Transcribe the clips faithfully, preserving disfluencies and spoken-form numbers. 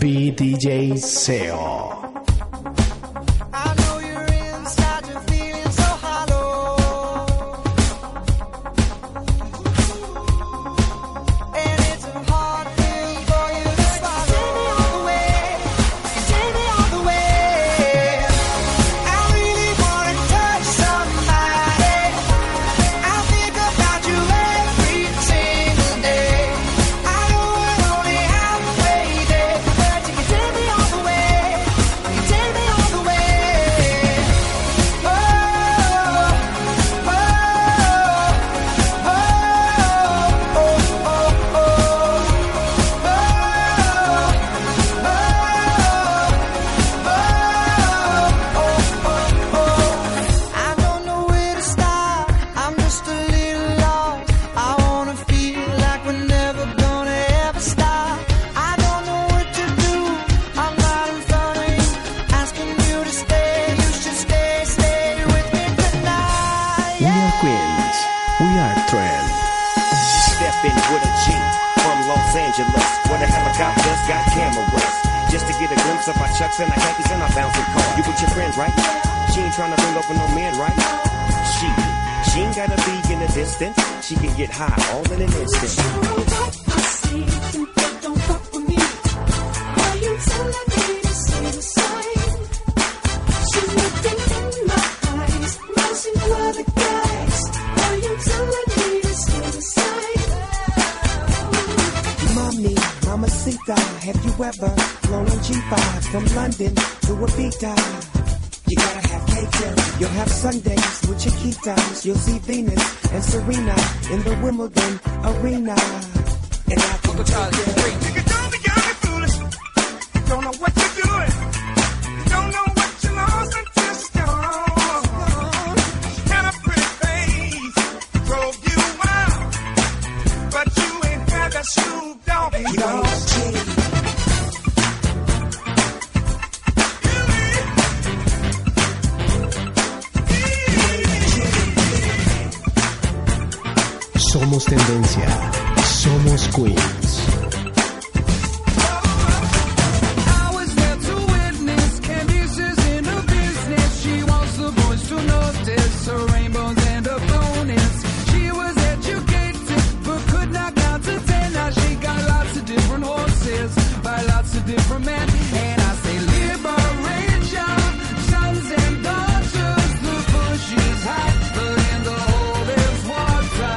B D J Seo. And I khakis and I bouncing car. You with your friends, right? She ain't trying to bring over no man, right? She, she ain't gotta be in the distance. She can get high all in an instant. Don't fuck with me. Why you telling me to say the same? She's looking in my eyes, mousing for other guys. Why you telling me to say the same? Mommy, mamacita, have you ever flown on G five from London to Ibiza? You gotta have cake there. You'll have Sundays with Chiquitas. You'll see Venus and Serena in the Wimbledon arena. And I can Uncle Charlie, great. Nigga, don't be young and foolish. You don't know what you're doing. You don't know what you lost until she's gone. She had a pretty face, drove you wild, but you ain't had that Snoop Dogg. You don't cheat. Somos tendencia, somos Queens. I was there to witness Candice's in her business. She wants the boys to notice her rainbows and her bonus. She was educated but could not count to ten. Now she got lots of different horses by lots of different men. And I say liberation, sons and daughters. The bush is hot, but in the hole there's water.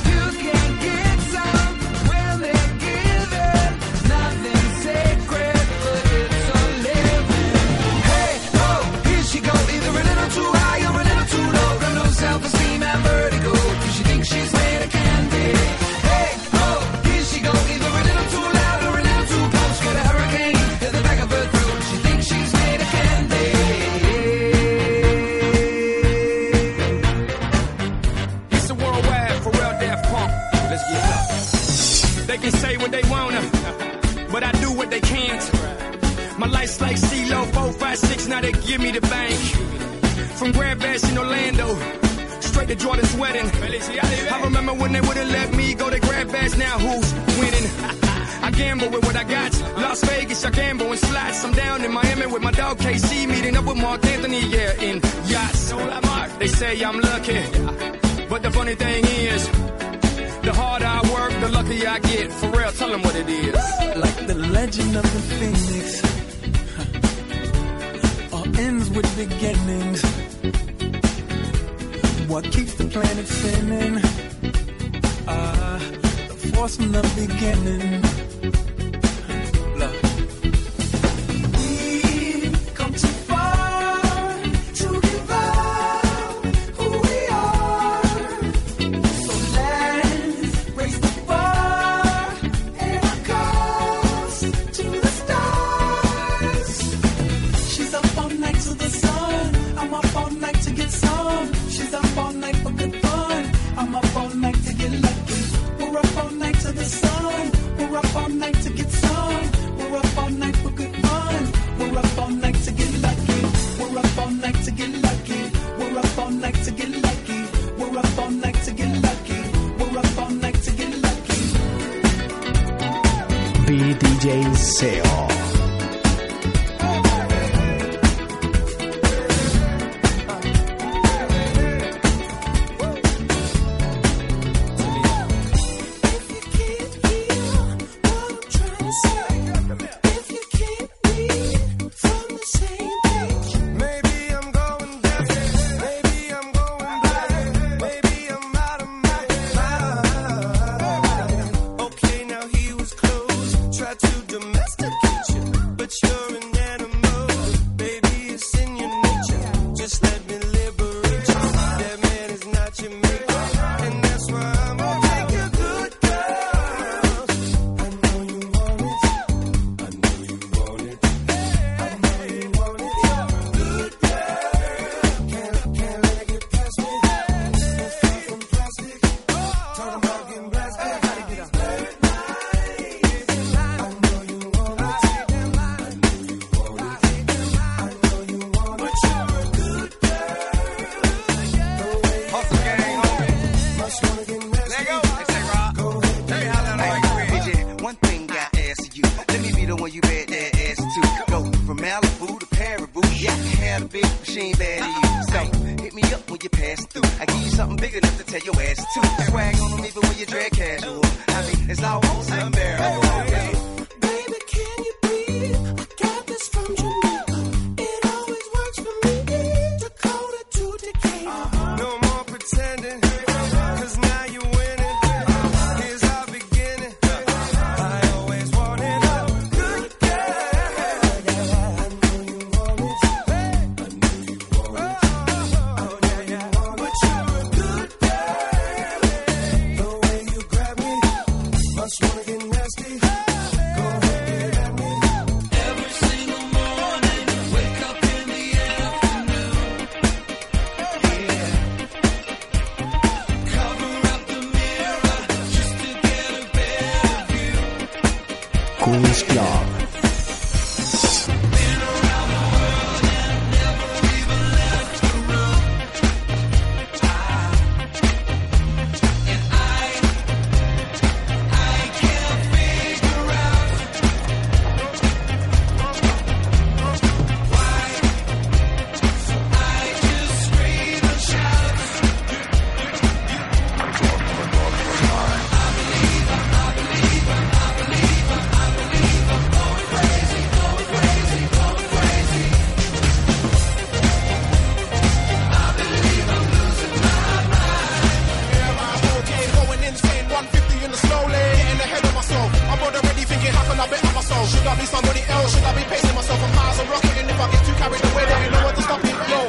Like CeeLo, four, five, six, now they give me the bank. From Grand Bash in Orlando, straight to Jordan's wedding. I remember when they wouldn't let me go to Grand Bash, now who's winning? I gamble with what I got. Las Vegas, I gamble in slots. I'm down in Miami with my dog K C, meeting up with Mark Anthony, yeah, in yachts. They say I'm lucky, but the funny thing is, the harder I work, the luckier I get. For real, tell them what it is. Like the legend of the Phoenix, ends with beginnings. What keeps the planet spinning? Uh, the force from the beginning. Look. We've come too far to give up who we are. So let's raise the bar and our cause to the stars. She's up all night to the sun. I'm up all night to get some. She's up all night for good fun. I'm up all night to get lucky. We're up all night to the sun. We're up all night to get some. We're up all night for good fun. We're up all night to get lucky. We're up all night to get lucky. We're up all night to get lucky. We're up all night to get lucky. We're up all night to get lucky. B D J Seo. you bet that ass too. Go from Malibu to Paribu, yeah, I can have a big machine bad to you. So hit me up when you pass through. I give you something big enough to tell your ass to. Swag on them even when you drag casual. I mean, it's almost unbearable. Hey, Baby, can you be? I got this from Jamaica. It always works for me. Dakota to Decatur. no more pretending, cause now you're winning. Here's our beginning. I always wanted a good girl. I know you want it. I know you want it. Oh, yeah, yeah. But you're a good girl. The way you grab me, must wanna get nasty. Go ahead, get at me. Every single morning, wake up in the afternoon. Yeah. Cover up the mirror just to get a better view. Queen's Club. Going insane, one fifty in the slow lane, getting ahead of myself. I'm already thinking, how can I better myself? Should I be somebody else? Should I be pacing myself? I'm high as a rocket, and if I get too carried away, then you know what to stop it. Yo.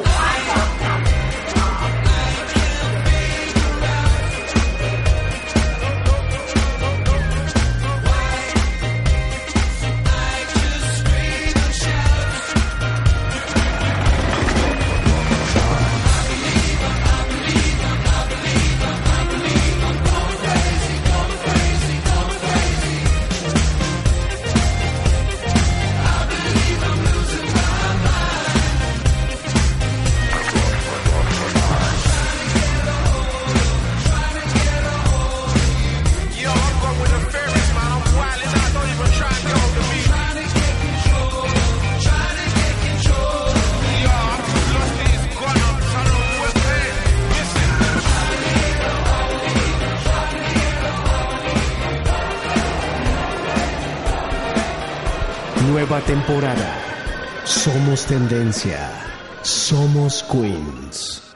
Yo, I'm going with the fairies, man. I'm wildin' out, don't even try and get hold of me. Trying to get control, trying to get control. Yo, I'm too lost in this gun, I'm trying to know what's there. Listen. Nueva temporada. Somos tendencia. Somos Queens.